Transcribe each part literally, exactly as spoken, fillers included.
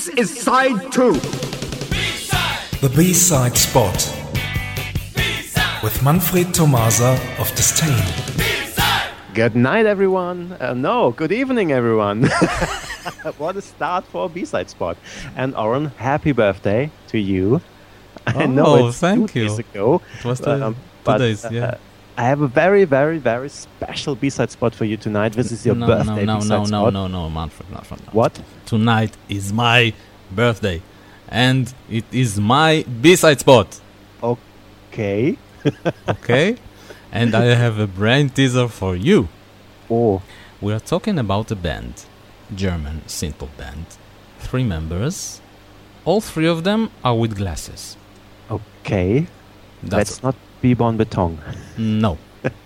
This is side two. B-side. The B-side spot. B-side. With Manfred Tomasa of Disdain. B-side. Good night, everyone. Uh, no, good evening, everyone. What a start for a B-side spot. And Oren, happy birthday to you. I oh, know it's thank two you. days ago. It was the, um, two but, days, yeah. Uh, I have a very, very, very special B-side spot for you tonight. This is your no, birthday no, no, B-side no, spot. No, no, no, Manfred, Manfred. No. What? Tonight is my birthday. And it is my B-side spot. Okay. Okay? And I have a brand teaser for you. Oh. We are talking about a band. German synth-pop band. Three members. All three of them are with glasses. Okay. That's Let's not be Bon Beton. No.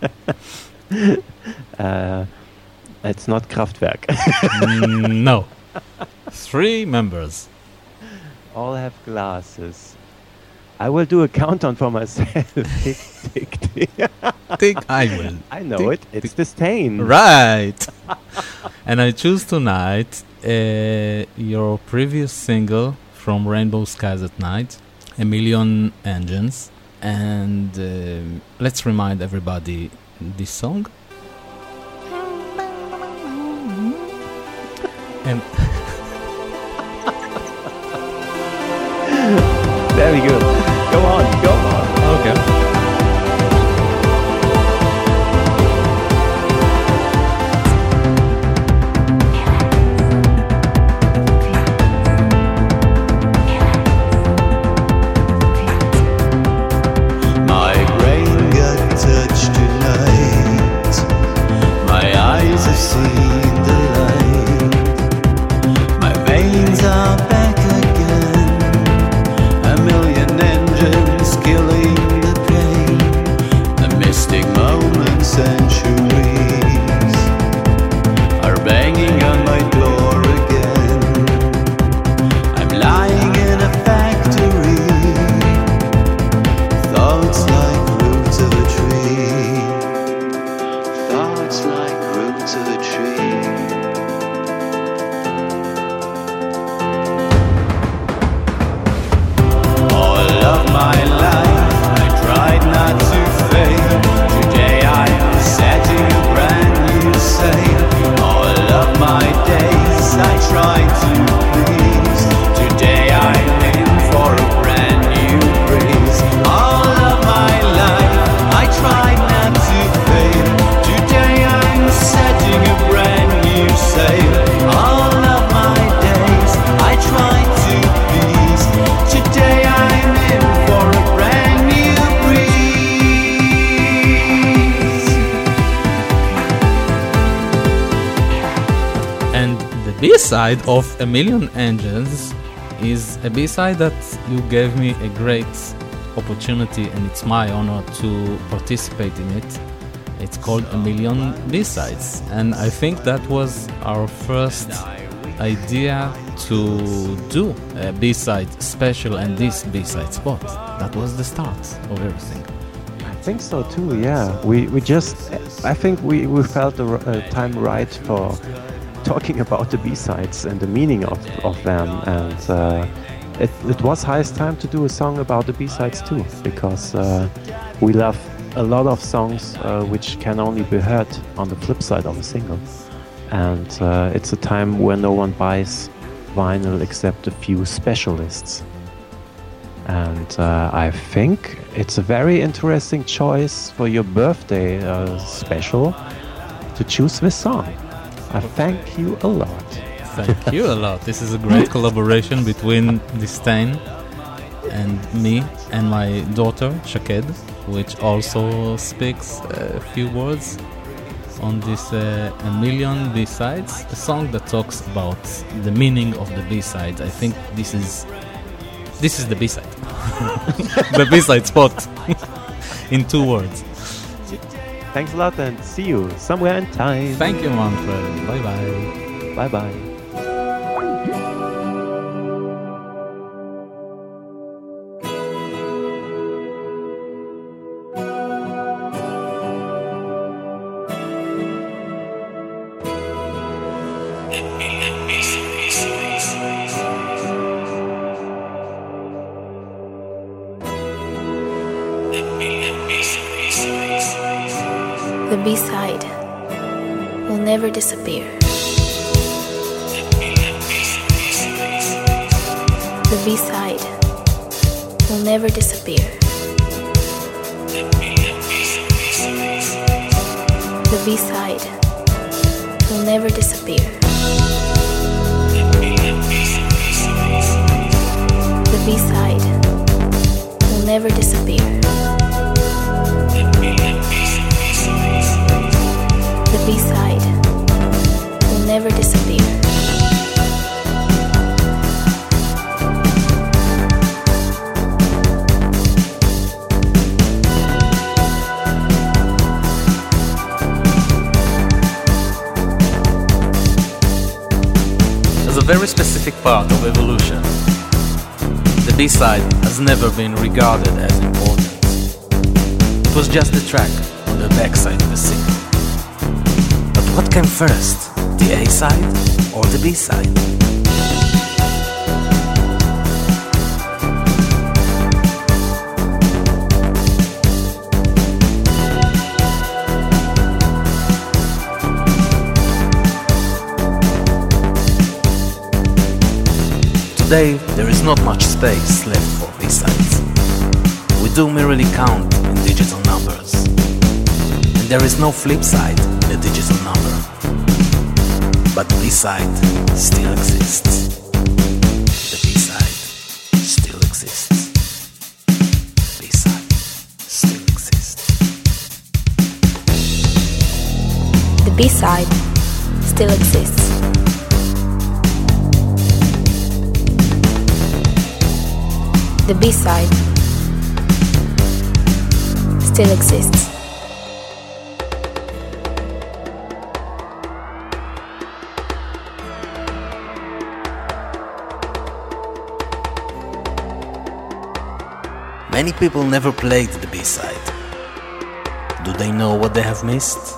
uh, it's not Kraftwerk. No. Three members. All have glasses. I will do a countdown for myself. Tick, tick, tick. Tick, I will. I know Tick, it. It's Disdain. Right. And I choose tonight uh, your previous single from Rainbow Skies at Night, A Million Engines. And uh, let's remind everybody this song. And Very good. Go on, go on. okay. B-side of A Million Engines is a B-side that you gave me a great opportunity, and it's my honor to participate in it. It's called A Million B-sides, and I think that was our first idea to do a B-side special and this B-side spot. That was the start of everything. I think so too, yeah. We we just, I think we, we felt the uh, time right for talking about the B-sides and the meaning of, of them, and uh, it, it was highest time to do a song about the B-sides too, because uh, we love a lot of songs uh, which can only be heard on the flip side of a single, and uh, it's a time where no one buys vinyl except a few specialists, and uh, I think it's a very interesting choice for your birthday uh, special to choose this song. I thank you a lot. Thank you a lot. This is a great collaboration between Disdain and me and my daughter, Shaked, which also speaks a few words on this uh, A Million B-sides, a song that talks about the meaning of the B-sides. I think this is this is the B-side. The B-side spot in two words. Thanks a lot and see you somewhere in time. Thank you, Manfred. Bye-bye. Bye-bye. Peace, peace, peace. The B-side will never disappear. The B-side will never disappear. The B-side will never disappear. The B-side will never disappear. The B-side will never disappear. As a very specific part of evolution, the B-side has never been regarded as important. It was just the track on the backside of a single. But what came first, the A-side or the B-side? Today, there is not much space left for B-sides. We do merely count in digital numbers. And there is no flip side in a digital number. But the B-side still exists. The B-side still exists. B-side still exists. The B-side still exists. The B-side still exists. Many people never played the B-side. Do they know what they have missed?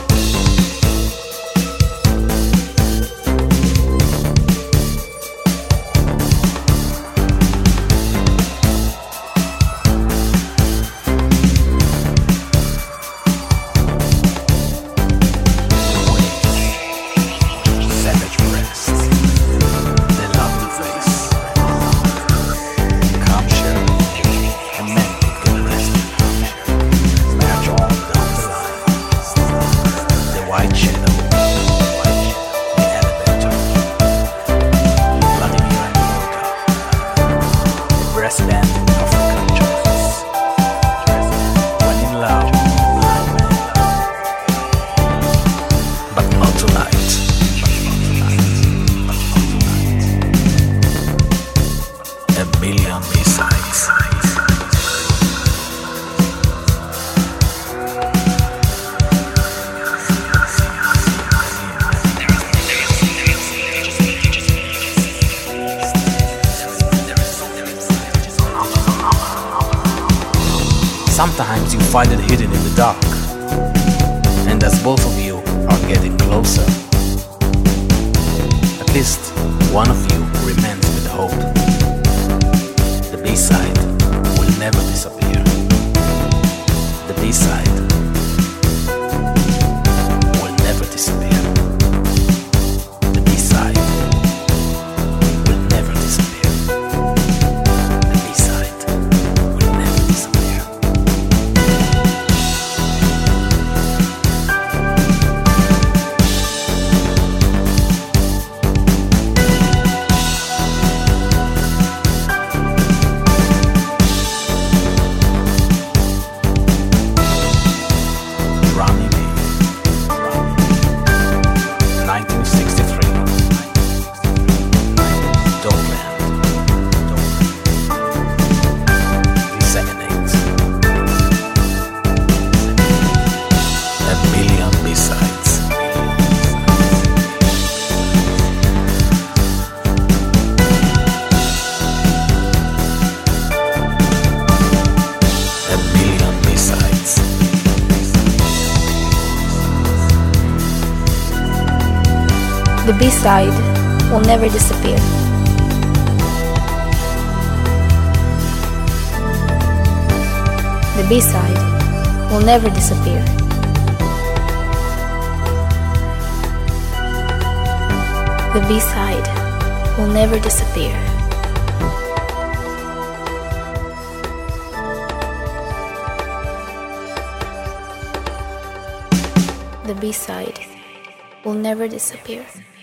Sometimes you find it hidden in the dark, and as both of you are getting closer, at least one of you remains with hope. The B-side will never disappear. The B-side will never disappear. The B-side will never disappear. The B-side will never disappear. The B-side will never disappear. The B-side will never disappear. The B-side will never disappear. The B-side will never disappear.